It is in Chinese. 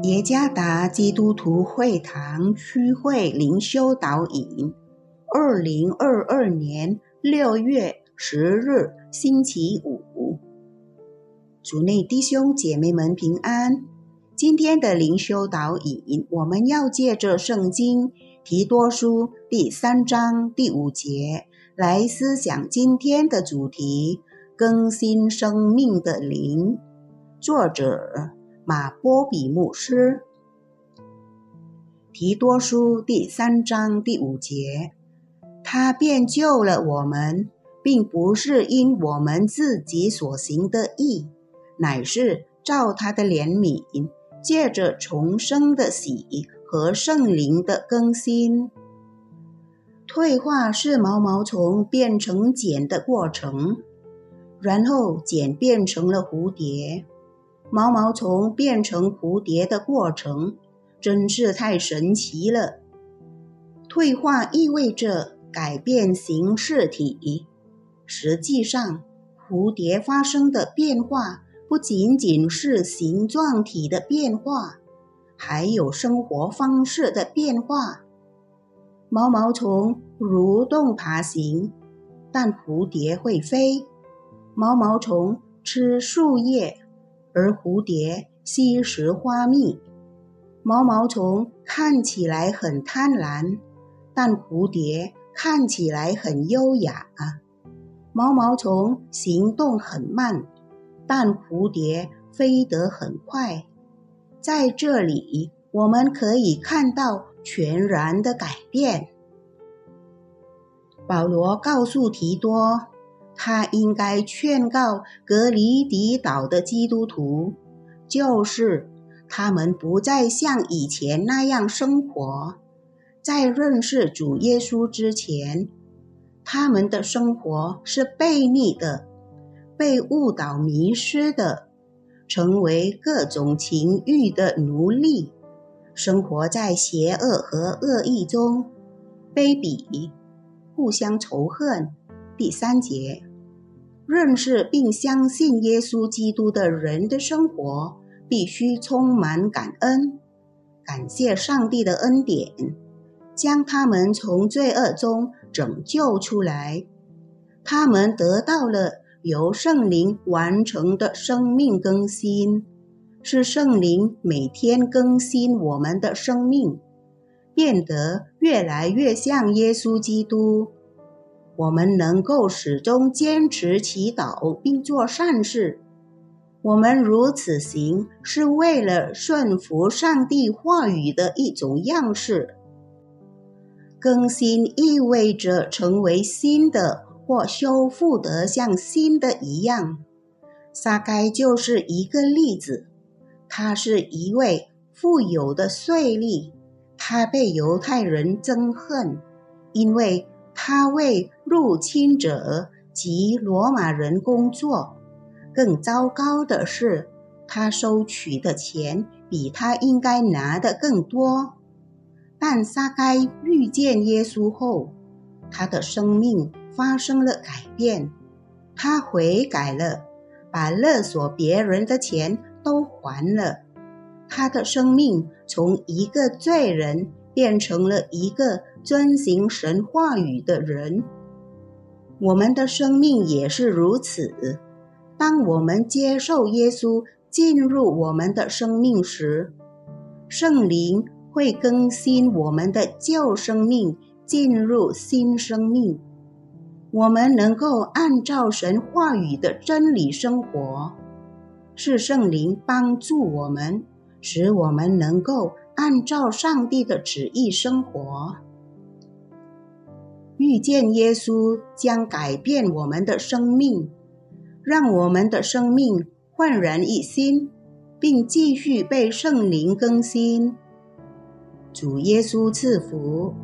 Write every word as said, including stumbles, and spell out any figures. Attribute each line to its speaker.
Speaker 1: 耶加达基督徒会堂区会灵修导引，二零二二年六月十日星期五。主内弟兄姐妹们平安。今天的灵修导引，我们要借着圣经提多书第三章第五节来思想今天的主题：更新生命的灵。作者马波比牧师。提多书第三章第五节，他便救了我们，并不是因我们自己所行的义，乃是照他的怜悯，借着重生的喜和圣灵的更新。退化是毛毛虫变成茧的过程，然后茧变成了蝴蝶。毛毛虫变成蝴蝶的过程真是太神奇了。退化意味着改变形式体，实际上蝴蝶发生的变化不仅仅是形状体的变化，还有生活方式的变化。毛毛虫蠕动爬行，但蝴蝶会飞。毛毛虫吃树叶，而蝴蝶吸食花蜜。毛毛虫看起来很贪婪，但蝴蝶看起来很优雅。毛毛虫行动很慢，但蝴蝶飞得很快。在这里，我们可以看到全然的改变。保罗告诉提多，他应该劝告格里底岛的基督徒，就是他们不再像以前那样生活。在认识主耶稣之前，他们的生活是悖逆的，被误导迷失的，成为各种情欲的奴隶，生活在邪恶和恶意中，卑鄙，互相仇恨。第三节，认识并相信耶稣基督的人的生活必须充满感恩，感谢上帝的恩典，将他们从罪恶中拯救出来。他们得到了由圣灵完成的生命更新，是圣灵每天更新我们的生命，变得越来越像耶稣基督。我们能够始终坚持祈祷并做善事，我们如此行是为了顺服上帝话语的一种样式。更新意味着成为新的，或修复得像新的一样。撒该就是一个例子，他是一位富有的税吏，他被犹太人憎恨，因为他为入侵者及罗马人工作。更糟糕的是，他收取的钱比他应该拿的更多。但撒该遇见耶稣后，他的生命发生了改变，他悔改了，把勒索别人的钱都还了。他的生命从一个罪人变成了一个遵行神话语的人。我们的生命也是如此。当我们接受耶稣进入我们的生命时，圣灵会更新我们的旧生命，进入新生命。我们能够按照神话语的真理生活，是圣灵帮助我们，使我们能够按照上帝的旨意生活。遇见耶稣将改变我们的生命，让我们的生命焕然一新，并继续被圣灵更新。主耶稣赐福。